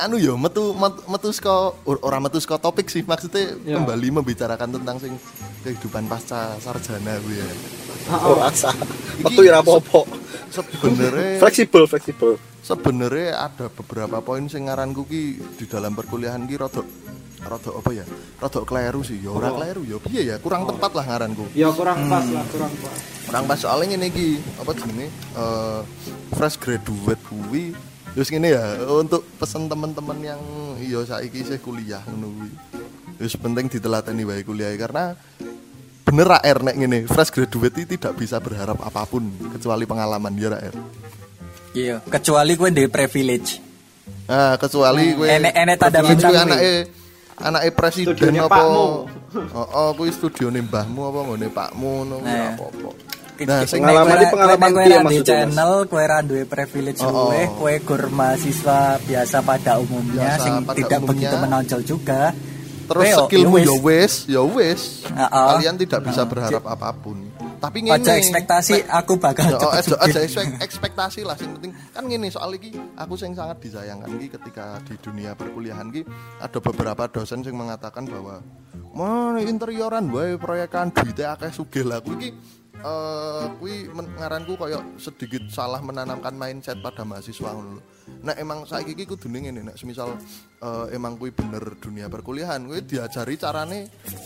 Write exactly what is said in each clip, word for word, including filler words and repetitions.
anu yo metu metu saka ora metu saka topik sih maksudnya ya. Kembali membicarakan tentang sing kehidupan pasca sarjana kuwi ya. Ora asa. Metu ora apa-apa. Sebenarnya fleksibel fleksibel. Sebenarnya ada beberapa poin sing ngaranku ki di dalam perkuliahan ki rada rada apa ya? Rada kleru sih. Ya ora oh. kleru ya piye ya? Kurang oh. tepat lah ngaranku. Ya kurang hmm. pas lah, kurang pas. Kurang pas soalnya ngene iki, apa jenenge? Uh, fresh graduate kuwi wis ngene ya, untuk pesan teman-teman yang iya saiki isih kuliah ngono kuwi. Wis penting ditelateni wae kuliah karena bener ra R nek ngene, fresh graduate itu tidak bisa berharap apapun kecuali pengalaman ya ra R. Iya, kecuali kowe ndek privilege. Nah, kecuali kowe enek-enek tanda bintang anake anake presiden apa? Heeh, kuwi studione mbahmu apa ngene pakmu ngono apa-apa. Nah, pengalaman iki pengalaman piye di channel kowe ra duwe privilege luweh, kowe gur mahasiswa biasa pada umumnya biasa, sing pada tidak umumnya. Begitu menonjol juga. Terus Weo, skillmu ya wis, ya wis. Kalian tidak bisa berharap uh, apapun. Tapi ngene. Aja ekspektasi aku bakal ya, aja, aja ekspektasi lah sing penting. Kan ngene soal iki aku sing sangat disayangkan iki ketika di dunia perkuliahan iki ada beberapa dosen sing mengatakan bahwa "Mana interioran wae proyekan duite akeh sugih lah." Kuwi iki Uh, kui ngaranku koyo sedikit salah menanamkan mindset pada mahasiswa ngono lho. Nek emang saiki iki kudune ngene nek semisal uh, emang kui bener dunia perkuliahan, kui diajari carane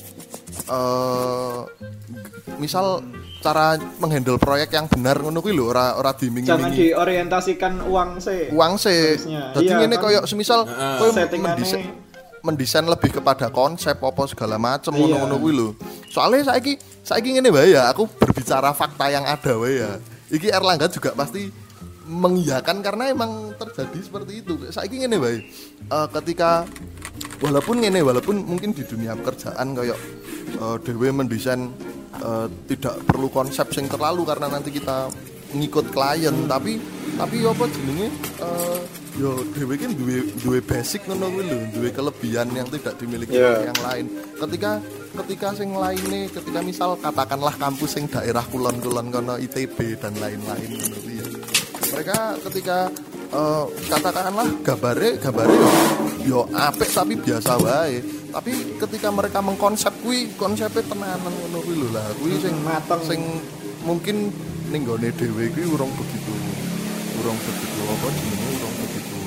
uh, misal cara menghandle proyek yang benar ngono kuwi lho, ora ora dimingi-mingi. Jangan diorientasikan uang sih. Uang sih. Dadi iya, ngene kan? Koyo semisal uh, kowe mendesain mendesain lebih kepada konsep apa segala macam ngono-ngono kuwi lho. Soalnya saiki saiki ngene wae ya, aku berbicara fakta yang ada wae ya. Iki Erlangga juga pasti mengiyakan karena emang terjadi seperti itu. Saiki ngene wae. Uh, ketika walaupun ngene walaupun mungkin di dunia pekerjaan kayak uh, dhewe mendesain uh, tidak perlu konsep sing terlalu karena nanti kita ngikut klien, hmm. tapi tapi apa jenenge uh, yo dhewe ki duwe duwe basic ngono kuwi lho, duwe kelebihan yang tidak dimiliki yeah. oleh yang lain. Ketika ketika sing lainnya, ketika misal katakanlah kampus sing daerah kulon-kulon kono I T B dan lain-lain ngono kuwi. Mereka ketika uh, katakanlah gambare gambare yo yo apik tapi biasa wae. Tapi ketika mereka mengkonsep kuwi, konsepnya tenanan ngono kuwi lho lah. Kuwi sing mateng sing mungkin ning gone dhewe kuwi urung begitu urung begitu apa jenenge urung begitu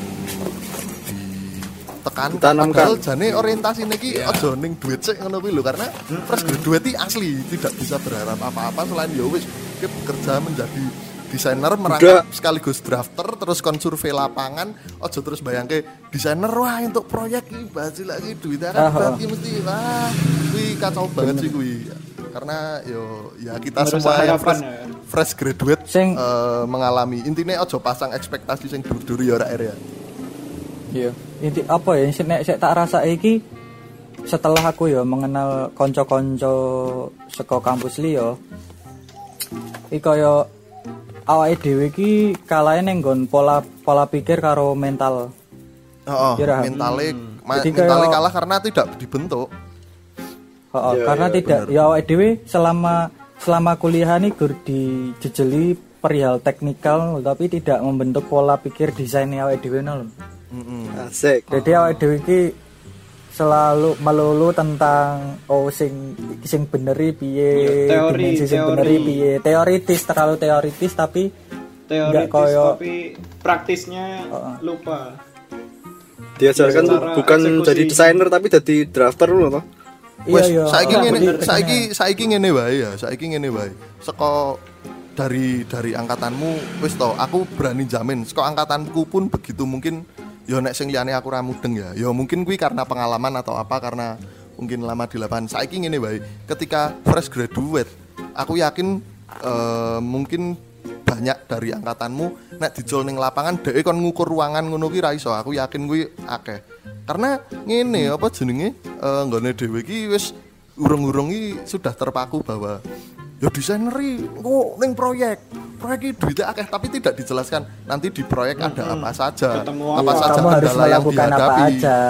ditekan padahal jane orientasine iki yeah. aja ning duit sik ngono kuwi lho karena fresh graduate iki asli tidak bisa berharap apa-apa selain ya wis bekerja menjadi desainer merangkap sekaligus drafter terus kon survei lapangan aja terus bayangke desainer wah untuk proyek iki basi lagi duitnya kan berarti mesti wah kuwi kacau banget sih kuwi karena yo ya kita Menurut semua yang fresh, ya. fresh graduate sing, uh, mengalami intinya aja pasang ekspektasi sing dur-dur ya ora ya. Iya, inti apa ya sing nek tak rasa iki setelah aku ya mengenal kanca-kanca saka kampus liya iki kaya awake dhewe iki kalahe ning nggon pola pola pikir karo mental. Heeh, oh, mentale hmm. ma- mentale kalah karena tidak dibentuk. Oh, ya, karena ya, tidak bener. Ya awake dhewe selama selama kuliah ini gur dijejeli perihal teknikal tapi tidak membentuk pola pikir desain awake dhewe lho. Heeh. Asik. Jadi awake dhewe iki selalu melulu tentang oh sing sing beneri piye, ya, teori sing beneri piye, teoritis terlalu teoritis tapi teoritis koyo, tapi praktisnya uh, lupa. Diajarkan ya, bukan eksekusi. Jadi desainer tapi jadi drafter lho toh. Wes iya, saiki ngene saiki saiki ngene wae ya, saiki ngene wae. Saka dari dari angkatanmu wis to, aku berani jamin saka angkatanku pun begitu mungkin ya nek sing liyane aku ra mudeng ya. Ya mungkin kuwi karena pengalaman atau apa karena mungkin lama di lapangan. Saiki ngene wae, ketika fresh graduate, aku yakin uh, mungkin banyak dari angkatanmu nek dicul ning lapangan dhek kon ngukur ruangan ngono ki ra iso. Aku yakin kuwi akeh. Karena ngene apa jenenge uh, nggone dhewe iki wis urung-urung iki sudah terpaku bahwa ya desainer iki kok ning proyek. Proyek iki duitnya akeh tapi tidak dijelaskan nanti di proyek hmm, ada apa saja. Apa ya, saja kendala yang dihadapi.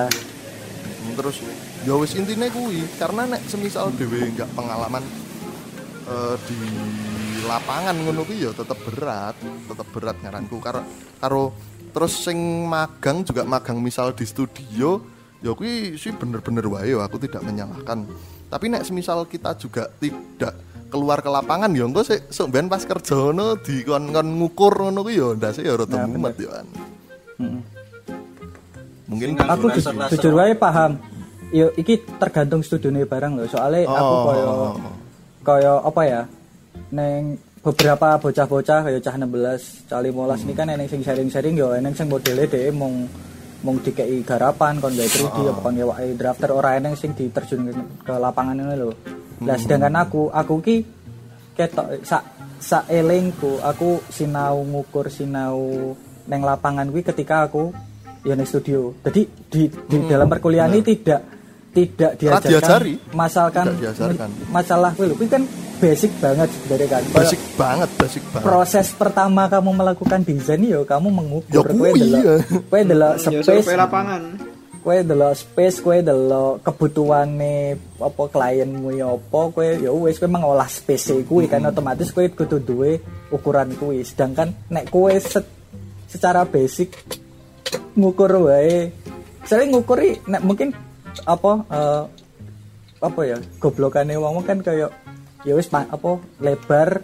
Terus ya wis intine kuwi karena nek semisal dhewe enggak pengalaman uh, di lapangan ngono kuwi ya tetep berat, tetep berat ngaranku karo karo Terus sing magang juga magang misal di studio, ya kuwi sih bener-bener wae aku tidak menyalahkan. Tapi nek semisal kita juga tidak keluar ke lapangan ya engko sik sok ben pas kerja ngono dikon-kon ngukur ngono kuwi ya ndase ya rada mumet ya kan. Heeh. Mungkin aku jujur wae paham. Yo iki tergantung studione barang lho. Soale oh. aku koyo koyo apa ya? Neng beberapa bocah-bocah kayak cah enam belas, cah lima belas hmm. ini kan eneng sing sharing-sharing yo eneng sing modele dhewe mung mung dikei garapan kon gawe tiga D oh. apa kon ngewaki drafter ora eneng sing diterjun ke, ke lapangan ngono lho. Lah hmm. sedangkan aku aku ki ketok sak sak elingku aku sinau ngukur sinau neng lapangan kuwi ketika aku ya neng studio. Jadi di di hmm. dalam perkuliahan ini tidak tidak diajarkan masalkan masalah kuwi lho kuwi kan basic banget sebenarnya kan. Basic Kalo banget, basic banget. Proses pertama kamu melakukan desain yo kamu mengukur kowe delok kowe delok space lapangan. Kowe delok space, kowe delok kebutuhane apa klienmu ya apa kowe ya wis kowe mengolah space kuwi hmm. kan otomatis kowe kudu duwe ukuran kuwi. Sedangkan nek kowe se- secara basic ngukur wae. Sering ngukuri nek mungkin apa uh, apa ya goblokane wong kan kayak ya wis pa, apa lebar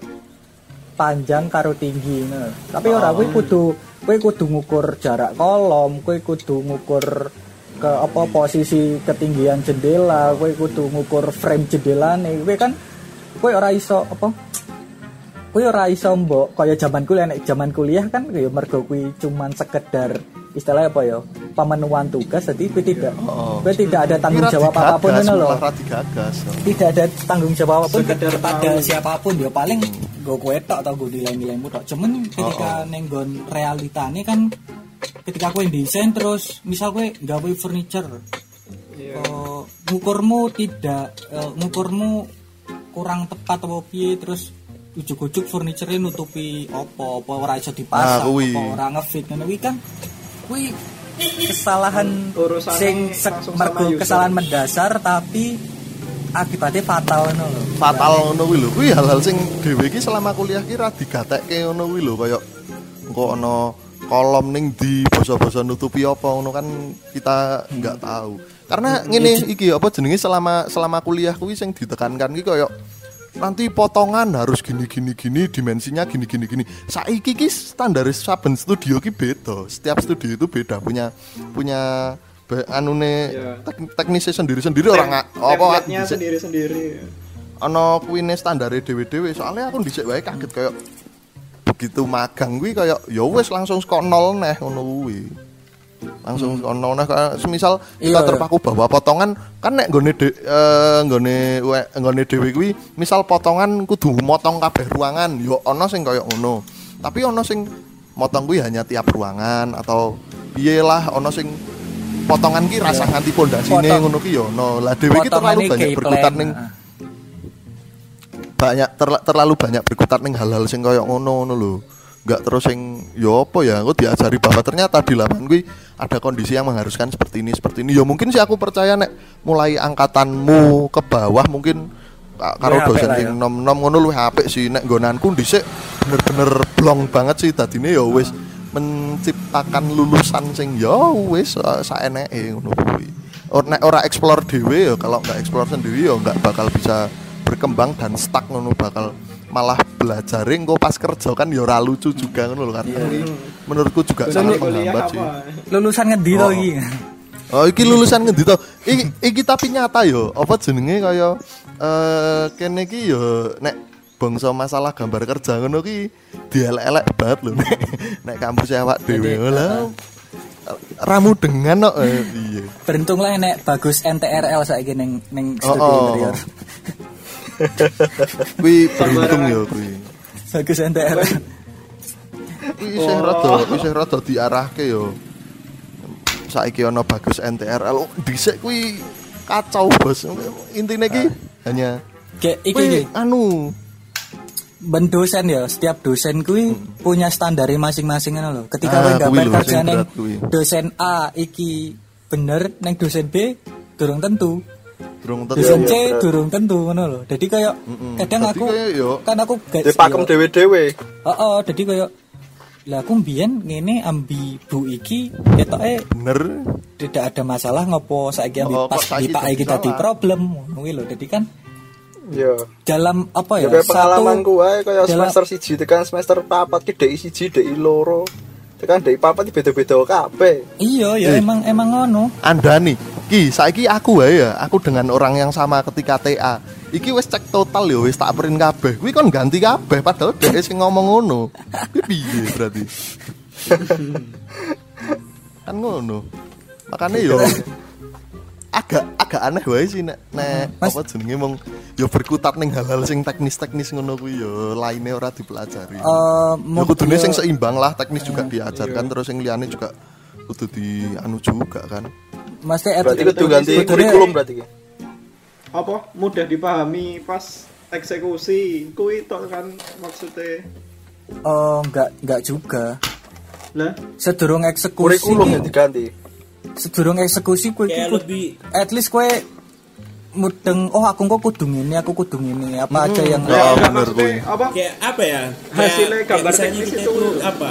panjang karo tinggi nah. Tapi oh. ora kowe kudu kowe kudu ngukur jarak kolom, kowe kudu ngukur ke apa posisi ketinggian jendela, kowe kudu ngukur frame jendelane. Kowe kan kowe ora iso apa kowe ora iso mbok kaya zaman kuliah nek zaman kuliah kan ya mergo kuwi cuman sekedar istilahnya apa ya pemenuhan tugas jadi kowe tidak oh. kowe tidak ada tanggung jawab apapun ngono lho. Tidak ada tanggung jawab apapun kepada siapapun ya paling nggo kowe tok atau nggo nilai-nilaimu tok. Cuman ketika oh, oh. ning nggon realitane kan ketika kowe desain terus misal kowe gawe furniture yeah. uh, ngukurmu tidak uh, ngukurmu kurang tepat apa piye terus ujuk-ujuk furniture nutupi apa apa ora iso dipasang nah, apa ora ngefit ngono kuwi kan kuwi kesalahan urusan sing mergo kesalahan mendasar tapi akibatnya fatal ngono lho. Fatal ngono kuwi lho. Kuwi hal-hal sing dhewe iki selama kuliah ki ra digatekke ngono kuwi lho kaya engko ana kolom ning di basa-basa nutupi apa ngono kan kita enggak tahu. Karena ngene iki apa jenenge selama selama kuliah kuwi sing ditekankan ki kaya nanti potongan harus gini gini gini dimensinya gini gini gini. Saiki ki standar saben studio ki beda. Setiap studio itu beda punya punya anune yeah. tek, teknisnya sendiri-sendiri Tem- orang apa sendiri-sendiri. Ana kuwine standare dhewe-dhewe. Soalnya aku dhisik wae kaget kayak begitu magang kuwi kayak ya wis langsung saka nol neh ngono kuwi. Langsung hmm. ono nah semisal kita iya, terpaku bahwa potongan kan nek nggone de, uh, nggone nggone dhewe kuwi misal potongan kudu motong kabeh ruangan yo ono sing kaya ngono tapi ono sing motong kuwi hanya tiap ruangan atau piye lah ono sing potongan ki rasa nganti pondasine ngono ki yo ono lah dhewe ki terlalu banyak berkutat ning banyak ter, terlalu banyak berkutat ning hal-hal sing kaya ngono ngono lho. Enggak terus yang yo apa ya aku diajari bahwa ternyata di lapangan gue ada kondisi yang mengharuskan seperti ini seperti ini ya mungkin sih aku percaya nek mulai angkatanmu ke bawah mungkin karo dosen sing ya. nom-nom ngono luwih apik sih nek nggonanku dhisik bener-bener blong banget sih dadine ya wis menciptakan lulusan sing ya wis saeneke ngono kuwi nek ora explore dhewe ya kalau enggak explore sendiri ya enggak bakal bisa berkembang dan stuck ngono bakal malah belajar engko pas kerja kan ya ora lucu juga ngono lho kan. Yeah. Menurutku juga sangat menghambat sih. Lulusan ngendi to iki? Oh, iki lulusan ngendi to? Iki iki tapi nyata yo. Apa jenenge kaya eh kene iki yo nek bangsa masalah gambar kerja ngono ki dielek-elek banget lho nek nek kampus awak dhewe lho. Ramu dengan kok eh, piye. Beruntunglah nek bagus N T R L saiki ning ning studio oh, oh. interior. Kuwi beruntung ya kuwi. Bagus N T R. Kuwi isih rada isih rada diarahke ya. Saiki ana bagus N T R L dhisik kuwi kacau bos. Intine ki hanya kayak iki iki anu ben dosen ya, setiap dosen kuwi hmm. punya standare masing-masing ngono lho. Ketika kowe ah, gambar kerjane dosen A iki bener neng dosen B durung tentu. Durung tentu. Dosen C ya, durung tentu ngono lho. Dadi kaya mm-mm. kadang dadi aku kaya, kan aku dipakem dhewe-dhewe. Heeh, dadi kaya Lah aku mbiyen ngene ambi bu iki ketoke bener tidak ada masalah ngopo saiki ambi oh, pas di Pak iki dadi problem ngono lho. Dadi kan ya dalam apa ya? Ya pengalamanku wae kaya dalam, semester siji tekan semester papat ki D I siji D I loro. Tekan D I papat beda-beda kabeh. Iya ya eh. emang emang ngono. Andani ki saiki aku wae ya, aku dengan orang yang sama ketika T A. Iki wis cek total ya wis tak print kabeh. Kuwi kon ganti kabeh padahal dhek sing ngomong ngono. Kuwi piye berarti? Kan ngono. Makane yo agak agak aneh wae sih nek nek apa jenenge mong yo berkutat ning hal-hal sing teknis-teknis ngono kuwi yo laine ora dipelajari. Uh, yo kudune sing seimbang lah, teknis juga diajarkan terus yang liyane juga kudu di anu juga kan. Mas berarti kudu ganti kurikulum berarti ki. Apa mudah dipahami pas eksekusi kuwi tok kan maksudnya. Oh, enggak enggak juga. Lah, sedurung eksekusi kurikulum yang diganti. Sedurung eksekusi kowe kayak lebih at least kowe mudeng oh aku kok kudu ngene aku kudu ngene apa hmm, aja yang ya, bener kuwi. Apa? Kayak apa ya? Hasilnya gambar teknis kita itu itu apa?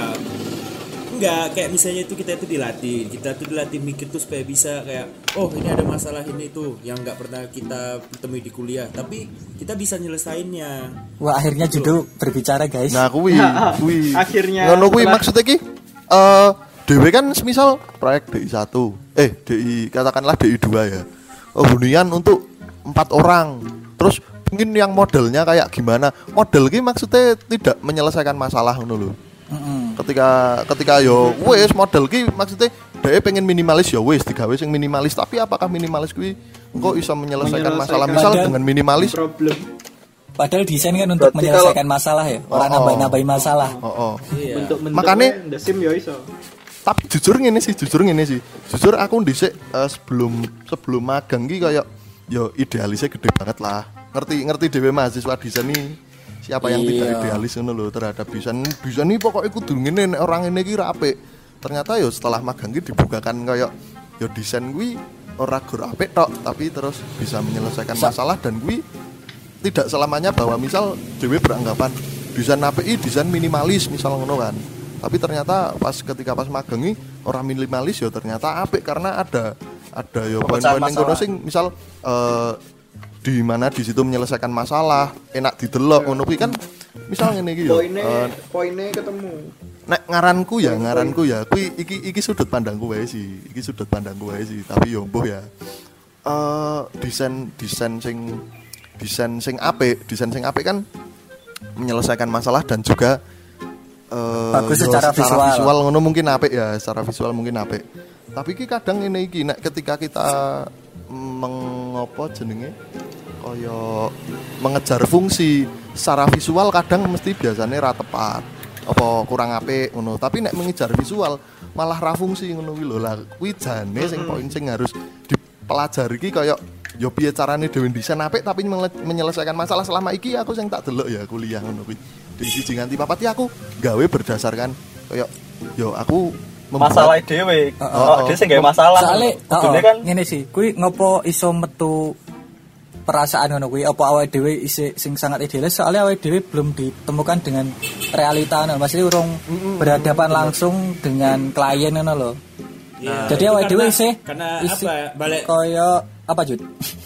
Enggak, kayak misalnya itu kita itu dilatih, kita tuh dilatih mikir tuh supaya bisa kayak oh ini ada masalah ini tuh yang nggak pernah kita temui di kuliah, tapi kita bisa nyelesainnya. Wah akhirnya judul berbicara guys. Nah kuwi, kuwi. Akhirnya. Ngono kuwi maksudnya ki, eh dewe kan semisal proyek D I satu, eh D I katakanlah D I dua ya. Oh hunian untuk empat orang, terus mungkin yang modelnya kayak gimana? Model ki maksudnya tidak menyelesaikan masalah ngono lho. Mm-hmm. Ketika ketika yo wes model ki maksudnya dia pengen minimalis ya wes digawe sing minimalis, tapi apakah minimalis kuwi engko iso menyelesaikan, menyelesaikan masalah misal padahal, dengan minimalis problem. Padahal desain kan untuk berarti menyelesaikan kalau, masalah ya, orang oh, nambah-nambahin masalah. Oh, oh. Iya. Bentuk-bentuk makanya ndesim yo iso. Tapi jujur ngene sih, jujur ngene sih. Jujur aku dhisik uh, sebelum sebelum magang ki kayak yo idealisnya gede banget lah. Ngerti ngerti dhewe mahasiswa desain nih. Siapa yang iya. tidak idealis ngono lho terhadap desain. Desain iki pokoke kudu ngene nek orang ngene iki ra apik. Ternyata yo setelah magang ki dibukakan kayak yo desain kuwi ora gur apik tok, tapi terus bisa menyelesaikan Sa- masalah dan kuwi tidak selamanya bahwa misal dhewe beranggapan desain apik iki desain minimalis misal ngono kan. Tapi ternyata pas ketika pas magang iki ora minimalis yo ternyata apik karena ada ada yo poin-poin yang ngono sing misal uh, di mana di situ menyelesaikan masalah, enak didelok ngono kuwi kan misal ngene iki yo. Poine uh, poine ketemu. Nek ngaranku ya, ngaranku ya kuwi iki iki sudut pandangku wae sih. Iki sudut pandangku wae sih, tapi yo mbuh ya. Eh uh, desain desain sing desain sing apik, desain sing apik kan menyelesaikan masalah dan juga uh, bagus secara, secara visual. visual ngono mungkin apik ya, secara visual mungkin apik. Tapi iki kadang ngene iki nek ketika kita mengopo jenenge kaya mengejar fungsi secara visual kadang mesti biasanya ra tepat apa kurang apik ngono, tapi nek mengejar visual malah ra fungsi ngono kuwi lho. Lah kuwi jane sing poin sing harus dipelajari iki kaya ya piye carane dhewe desain apik tapi menyelesaikan masalah. Selama iki aku sing tak delok ya kuliah ngono kuwi di siji nganti papat iki aku gawe berdasarkan kaya yo aku masalah dhewe. Heeh. Oh, dhewe sing gawe masalah. Soale kan ngene sih, kuwi ngopo iso metu perasaan ngono kuwi apa awake dhewe isih sing sangat idealis soalnya awake dhewe belum ditemukan dengan realita ngono. Maksudnya urung mm-hmm. berhadapan langsung dengan klien ngono lho. Nah, jadi awake dhewe isih karena isi, apa balik kaya apa Jud?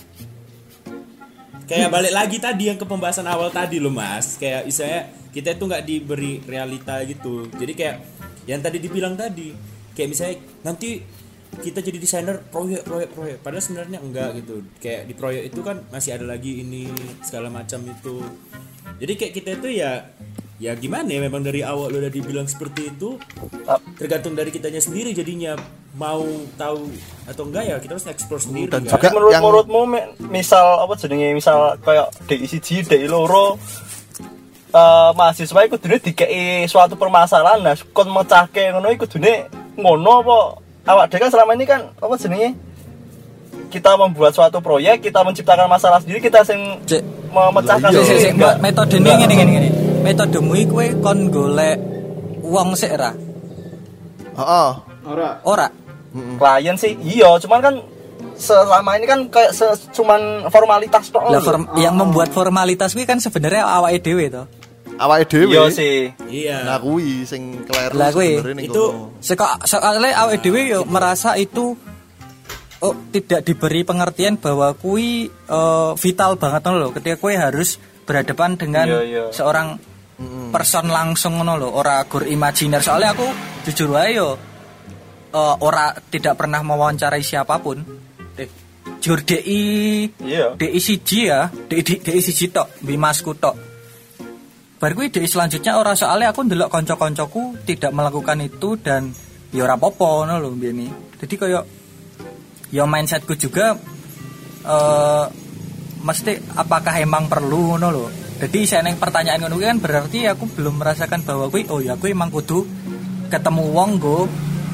Kayak balik lagi tadi yang ke pembahasan awal tadi loh Mas. Kayak istilahnya kita itu enggak diberi realita gitu. Jadi kayak yang tadi dibilang tadi kayak misalnya nanti kita jadi desainer proyek proyek proyek padahal sebenarnya enggak gitu. Kayak di proyek itu kan masih ada lagi ini segala macam itu. Jadi kayak kita itu ya ya gimana ya, memang dari awal udah dibilang seperti itu, tergantung dari kitanya sendiri jadinya mau tahu atau enggak ya kita harus explore sendiri. Dan kan? juga menurut yang... menurutmu misal apa jenenge misal kayak D I siji D I loro uh, mahasiswa iku kudune dikeki suatu permasalahan nah kon mecahke ngono iku kudune ngono apa awak dhewe kan selama ini kan apa jenenge kita membuat suatu proyek, kita menciptakan masalah sendiri, kita sing C- memecahkan sih sih metodene ngene ngene ngene. Metodemu iki kowe kon golek wong sik ra? Heeh. Ora. Ora. Mm-hmm. Klien sih iya, cuman kan selama ini kan kayak se- cuman formalitas tok. Lah form- yang membuat formalitas kuwi kan sebenarnya awake dhewe to. awake dhewe. Iya sih. Iya. Nah kuwi sing kleru sebenarnya ning itu Seka soalnya awake dhewe yo merasa itu oh tidak diberi pengertian bahwa kui uh, vital banget loh ketika kui harus berhadapan dengan iya, iya. seorang mm. person langsung ngono lho, ora gur imajiner. Soalnya aku jujur wae yo uh, ora tidak pernah mewawancarai siapapun. Eh, jujur D I iya. D I siji ya, D I D I siji tok, Bimasku tok. Bar kuwi D I selanjutnya ora soalnya aku ndelok kanca-kancaku tidak melakukan itu dan ya ora apa-apa ngono lho mbiyene. Jadi koyo ya mindsetku juga uh, mesti apakah emang perlu ngono lho. Jadi saya neng pertanyaan ngono kan berarti aku belum merasakan bahwa kuwi oh ya kuwi emang kudu ketemu wong go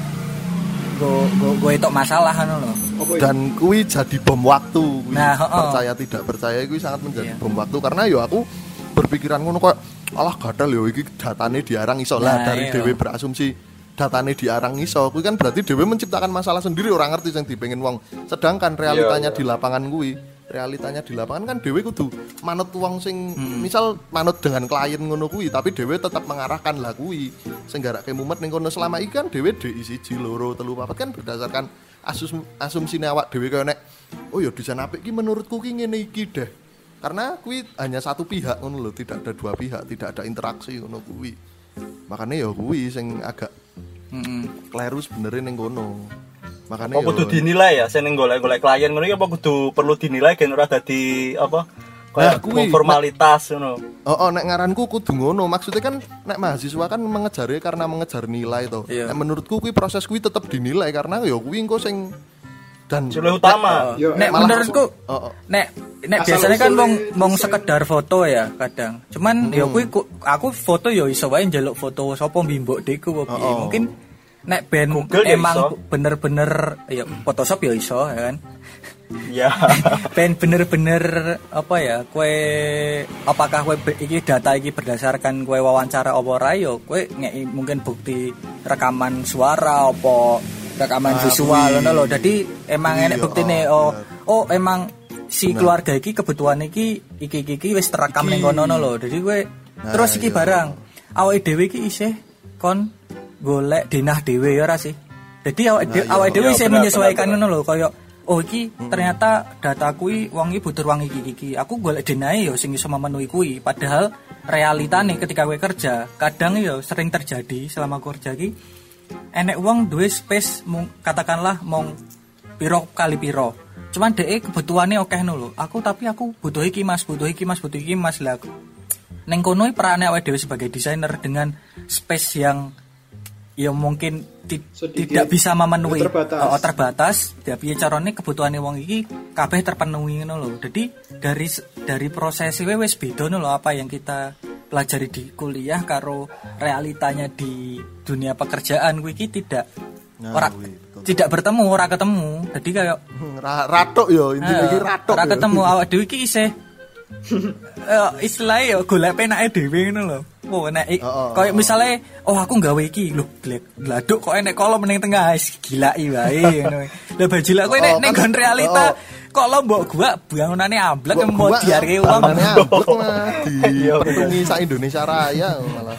go go, go itu masalah ngono lho. Dan kuwi jadi bom waktu. Kuwi nah, oh, percaya tidak percaya kuwi sangat menjadi iya. bom waktu karena ya aku berpikiran ngono kok alah gadal yo iki datane diarang iso lah nah, dari iya. dhewe berasumsi datane diarang iso kuwi kan berarti dhewe menciptakan masalah sendiri orang ngerti sing dipengen wong sedangkan realitanya iya, iya. di lapangan kuwi realitanya di lapangan kan dhewe kudu manut wong sing hmm. misal manut dengan klien ngono kuwi tapi dhewe tetap mengarahkan lah kuwi sing garake mumet ning kono selama iki kan dhewe D I siji loro telu papat kan berdasarkan asus asumsine awak dhewe kaya nek oh ya desain apik iki menurutku ki ngene iki deh karena kuwi hanya satu pihak ngono lho tidak ada dua pihak tidak ada interaksi ngono kuwi makanya ya kuwi sing agak mm-hmm. kleru sebenarnya ning kono makanya apa kudu dinilai ya sing golek-golek klien ngono iki apa kudu perlu dinilai gen ora dadi apa kayak nah, formalitas ngono oh, oh nek ngaranku kudu ngono maksudnya kan nek mahasiswa kan mengejare karena mengejar nilai to yeah. Nek menurutku kuwi proses kuwi tetep dinilai karena ya kuwi engko sing dan jumlah utama. Nek, uh, nek menurutku, oh, oh. nek nek asal biasanya kan mong mong sekedar foto ya kadang. Cuman hmm. ya kuwi aku foto ya iso wae njaluk foto sapa mbimbok deku oh, oh. Mungkin nek ben Google emang bener-bener ya Photoshop ya iso ya kan. Iya. Ben bener-bener apa ya kowe apakah kowe iki data iki berdasarkan kowe wawancara apa ora ya kowe ngeki mungkin bukti rekaman suara apa rekaman ah, visual ngono lho. Dadi emang enek buktine oh oh emang si keluarga iki kebutuhan iki iki iki wis terekam ning kono lho. Dadi kowe nah, terus iki iya. Barang awake dhewe iki isih kon golek denah dhewe ya ora sih. Dadi awake nah, awake dhewe isih menyesuaikan ngono lho kaya oh iki hmm. ternyata data kuwi wong iki butuh wong iki iki. Aku golek denahe ya sing iso memenuhi kuwi. Padahal realitane ketika kowe kerja kadang ya sering terjadi selama kerja iki enek wong duwe space mung, katakanlah mong piro kali piro. Cuman dhek kebutuhane akeh lho. Aku tapi aku butuh iki Mas, butuh iki Mas, butuh iki Mas lah. Ning kono perane awake dhewe sebagai desainer dengan space yang ya mungkin ti- tidak bisa memenuhi terbatas. Oh, terbatas. Ya piye carane kebutuhane wong iki kabeh terpenuhi ngono lho. Jadi dari dari proses wis beda lho apa yang kita pelajari di kuliah karo realitanya di dunia pekerjaan kuwi iki tidak nah, ora tidak bertemu, ora ketemu. Jadi kayak ratok yo intine iki ratok. Ora ketemu awak dhewe iki isih eh istilahnya yo golek penake dhewe ngono lho. Oh nek oh, oh, koyo oh, misale oh aku gawe iki lho gladuk kok enek kolom ning tengah gilaki wae ngono. Lah bajilak kowe nek ning gon realita kok lo mbok gua bangunane amblek mau diarke wong amblek mah dipetungi sak Indonesia Raya malah.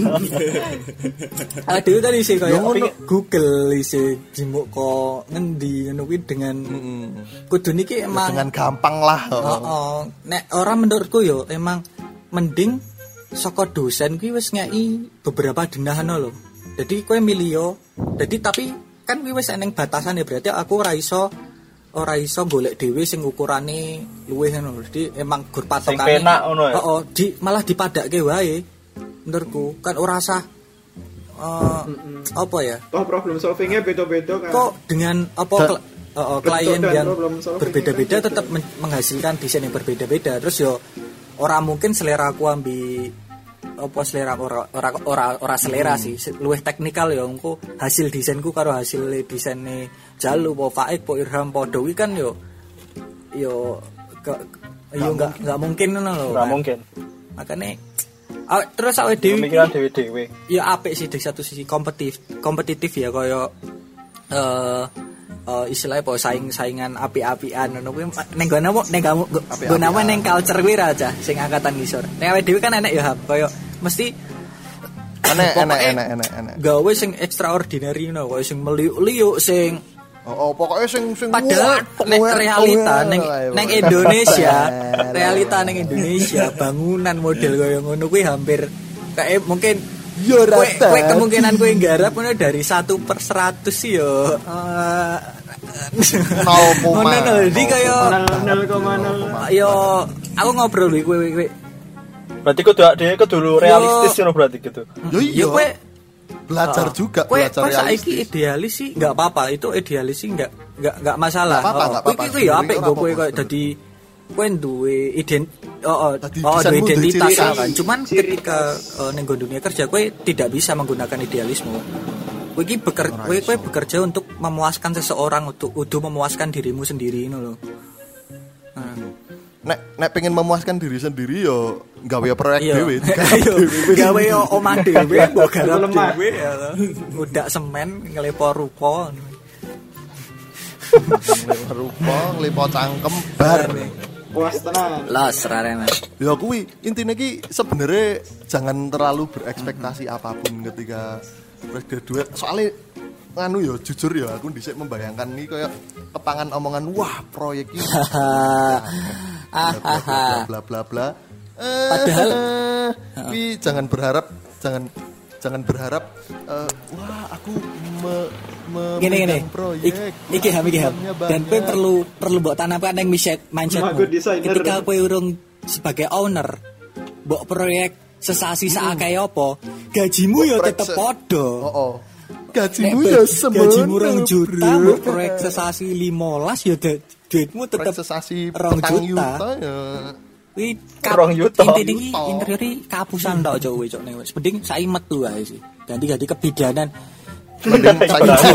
Aduh tadi sih koyo Google isi jimuk kok ngendi ngono kuwi dengan kudu niki emang dengan gampang lah. Heeh. Nek ora menurutku yo emang mending saka dosen kuwi wis ngeki beberapa denahan lho. Jadi kowe milih yo. Jadi tapi kan kuwi wis eneng batasan ya berarti aku ora iso ora iso golek dhewe sing ukurane luwih ngono. Jadi emang gur patokane. Sing penak ngono ya. Heeh, di malah dipadakke wae. Menurutku kan ora usah uh, apa ya? Toh problem solvingnya beda-beda kan. Kok dengan apa kl- uh, uh, klien yang berbeda-beda tetap men- menghasilkan desain yang berbeda-beda. Terus yo ora mungkin selera aku ambil apa selera ora ora ora, ora selera hmm. sih luwih teknikal ya engko hasil desainku karo hasil desaine Jalu po Faik po Irham po Dewi kan yo yo ke, yo enggak enggak mungkin ngono lho enggak mungkin makane aw, terus awake dhewe pemikiran dhewe-dhewe ya apik sih di satu sisi kompetitif kompetitif ya kaya eh uh, istilahnya po saing-saingan api-apian ngono kuwi ning gone ning gone apa ning culture kuwi aja sing angkatan ngisor. Nek awake dhewe kan enek ya kaya mesti enek enek enek enek enek gawe sing extraordinary no, gawe sing meliuk-liuk sing oh, oh pokoknya sing sing padahal nek realita ning ning Indonesia, realita ning Indonesia bangunan model kaya ngono kuwi hampir kayak mungkin yo rata. Kowe kemungkinan kowe nggarap ngono dari satu per seratus sih yo. nol koma nol. Jadi kaya nol koma nol. Yo aku ngobrol kowe kowe. Berarti kudu dhewe kudu realistis ngono berarti gitu. Yo iya. Kowe belajar uh, juga kue, belajar kue saiki idealis sih nggak apa-apa, itu idealis sih nggak nggak nggak masalah. Gak apa-apa, oh, gak apa-apa. Kue ya apik gue kue kayak jadi kue duwe ident oh oh, oh duwe identitas kan. Cuman ketika uh, ning dunia kerja kue tidak bisa menggunakan idealisme. Kue ki beker, kue kue bekerja untuk memuaskan seseorang, untuk untuk memuaskan dirimu sendiri loh. Nah. Nek nek pengen memuaskan diri sendiri yo gawe proyek dhewe, gawe omah dhewe, mbok garap dhewe ya. Udak semen ngelepo ruko. Ngelepo ruko, ngelepo cangkem bar. Puas tenan. Los rarene. Ya kuwi intine ki sebenarnya jangan terlalu berekspektasi apapun ketika graduate. Soalnya nganu yo jujur ya aku dhisik membayangkan nih kayak kepangan omongan wah proyek ini bla bla bla bla. Padahal tapi jangan berharap jangan jangan berharap uh, wah aku me, me gini gini proyek iki ham iki ham dan kowe perlu perlu mbok tanamkan ning mindset mindsetmu ketika kowe urung sebagai owner mbok proyek sesasi sakake apa gajimu yo tetep padha. Heeh. Gajimu ya semono. Gajimu rong juta, mbok proyek sesasi limolas ya duitmu tetep sesasi rong juta ya. Kuwi rong juta. Intine iki interior iki kapusan tok cok kowe cok ning wis. Mending saiki metu ae sih. Ganti-ganti kebidanan. Mending saiki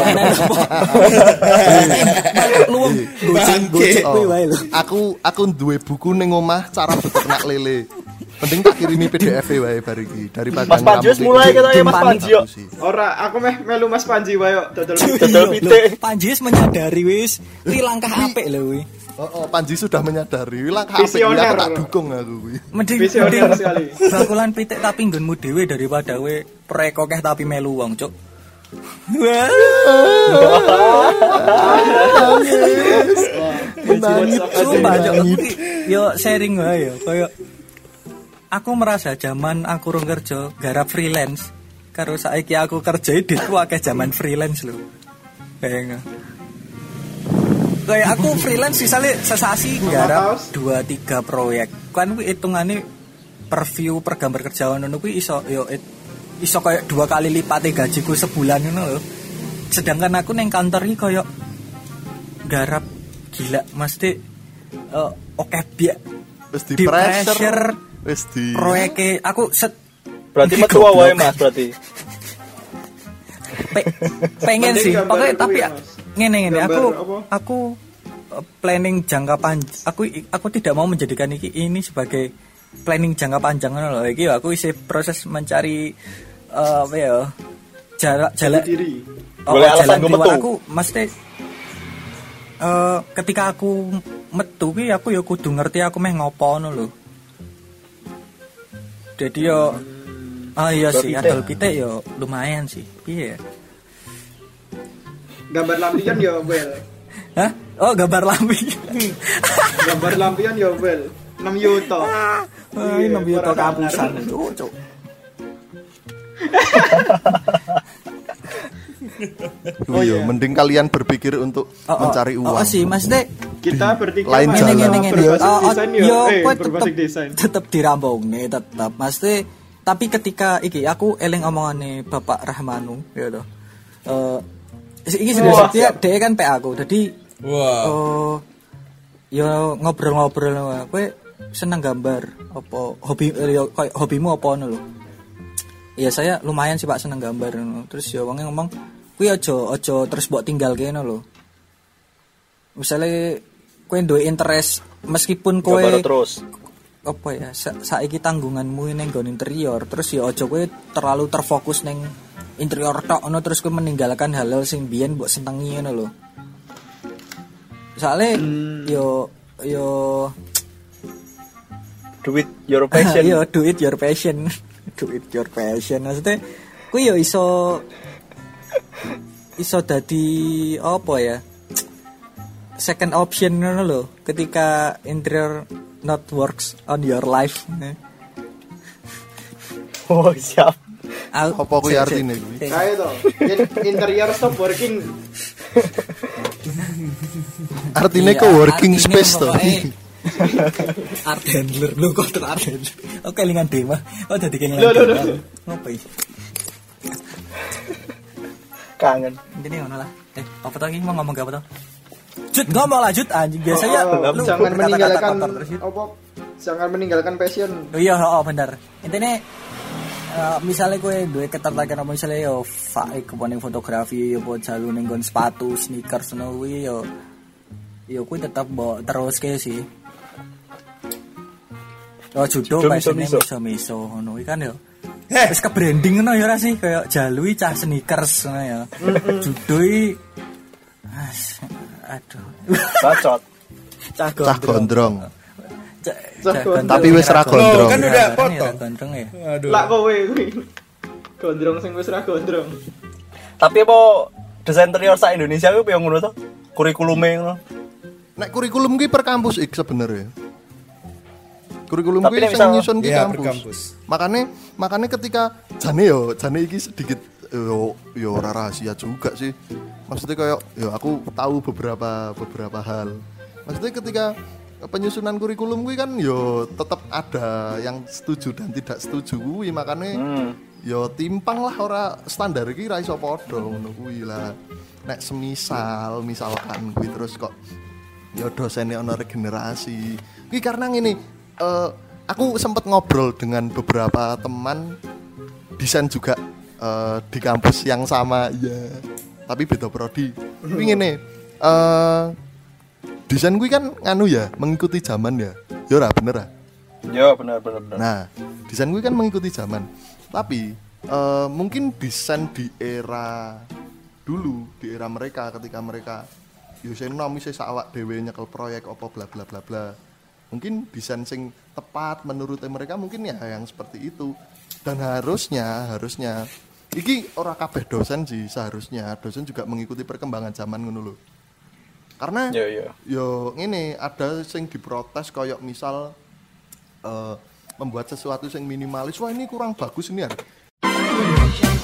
luwung goceng-gocek kowe wae lho. Aku aku duwe buku ning omah cara beternak lele. Mending tak kirimi P D F wae bar iki daripada Mas Panji wis mulai kata ya Mas Panji yo. Ora, aku meh melu Mas Panji wae yo dodol dodol pitik. Panji wis menyadari wis iki langkah apik lho kuwi. Oh, oh, Panji sudah menyadari langkah apik aku tak dukung aku kuwi. Mending mending bakulan pitik tapi nggonmu dhewe daripada kowe proyek akeh tapi melu wong, Cuk. Wah. Menangis sumpah Cuk. Yo sharing wae yo koyo aku merasa zaman aku rung kerja garap freelance karo saiki aku kerja ditku akeh zaman freelance lho. Kayak kayak aku freelance misalnya sesasi garap dua tiga proyek. Kan kuwi hitungane per view per gambar kerja ngono kuwi iso yo iso kayak dua kali lipat gajiku sebulan ngono lho. Sedangkan aku ning kantor iki koyo garap gila mesti uh, oke biak wis di pressure wis di proyeke aku set berarti metu wae Mas berarti Pe, pengen sih pokoknya tapi ngene ngene aku aku planning jangka panjang aku aku tidak mau menjadikan ini, ini sebagai planning jangka panjang ngono lho iki aku isi proses mencari uh, apa ya jalan jalan oh, boleh alasan gue metu aku mesti uh, ketika aku metu ki aku ya kudu ngerti aku meh ngopo ngono lho. Jadi yo ah iya sih adol pitik yo lumayan sih. Piye? Gambar lampion yo wel. Hah? Oh, gambar lampion. Gambar lampion yo wel. enam juta. Ah, enam juta kapusan. Cuk. Oh iya, mending kalian berpikir untuk oh, mencari uang. Oh, sih, Mas Dek. Kita bertiga lain jalan jalan. Oh, desain yo, yo eh, tetep, desain. Tetep dirambung nih, tetep. Mas Dek, tapi ketika iki aku eling omongane Bapak Rahmanu, ya toh. Eh iki sudah dia dia kan P A aku. Jadi wah. Oh, yo ngobrol-ngobrol kowe seneng gambar apa hobi yo hobimu apa ngono lho. Ya saya lumayan sih Pak seneng gambar ngono. Terus ya wong ngomong kuwi aja aja terus mbok tinggal kene lho. Misale kowe duwe interest meskipun kowe terus apa ya sa- saiki tanggunganmu ning nggon interior terus ya aja kowe terlalu terfokus ning interior tok ngono terus kowe meninggalkan hal-hal sing biyen mbok senengi ngono lho. Soale hmm. yo yo do it your passion. Yo do it your passion. Do it your passion. Maksudnya kuwi yo iso iso dadi apa ya? Second option ngono lho, ketika interior not works on your life. Oh, siap. Apa kuwi artine kuwi? Kae to. Interior stop working. Artine Iya, ko working artine space to. pokoknya art handler lu kok ter art handler. Oke kelingan Dewa. Oh dadi kelingan Loh, loh, Dewa. loh. Ngopo iki? Kangen. Intine ngono lah. Eh, apa tadi mau ngomong apa tuh? Jut ngomong lah Jut anjing biasanya Oh, lu jangan berkata-kata meninggalkan kotor terus, Jut. apa? Jangan meninggalkan passion. Oh iya, oh bener. Intine uh, misalnya gue duwe ketertarikan apa misalnya yo faik keponing fotografi yo buat jalu ning nggon sepatu, sneakers ngono kuwi yo yo kuwi tetap mbok terus ke sih. Oh judo Judo passionnya miso-miso. miso-miso ngono kuwi kan yo. Wis ke branding ngono ya ora sih kayak jalui cah sneakers ngono ya. Judo iki As, aduh. Bacot. Cah Cah gondrong. Cah- Cah cah gondrong. Tapi wis ra gondrong. Loh, kan udah Ra- potong. ra gondrong ya. Aduh. Lah kowe kuwi. Gondrong sing wis ra gondrong. Tapi apa desain interior sa Indonesia kuwi piye ngono to? Kurikulume ngono. Nek kurikulum ki per kampus ik sebenarnya. Kurikulum Tapi ki nek sing misal- nyusun ki Iya, per kampus. kampus. Makane makane ketika jane yo, jane iki sedikit yo yo ora rahasia juga sih. Maksudnya kayak yo aku tahu beberapa beberapa hal. Maksudnya ketika penyusunan kurikulum kuwi kan yo tetap ada yang setuju dan tidak setuju kuwi makane Hmm. yo timpang lah ora standar iki ra iso padha ngono kuwi lah. Nek semisal misalkan kuwi terus kok ya dosennya ono regenerasi. Kuwi karena ngene, eh, aku sempat ngobrol dengan beberapa teman desain juga eh, di kampus yang sama ya, tapi beda prodi. Kuwi ngene, eh desain kuwi kan nganu ya, mengikuti zaman ya. Ya ora bener ah. Ya benar benar benar. Nah, desain gue kan mengikuti zaman. Tapi eh, mungkin desain di era dulu, di era mereka ketika mereka yo nom wis awak dhewe nyekel proyek apa bla bla bla bla. Mungkin desain sing tepat menurut mereka mungkin ya yang seperti itu. Dan harusnya harusnya iki ora kabeh dosen sih seharusnya dosen juga mengikuti perkembangan zaman ngono lho. Karena Ya ya. yo ngene ada sing diprotes kayak misal uh, membuat sesuatu yang minimalis, wah ini kurang bagus ini ya.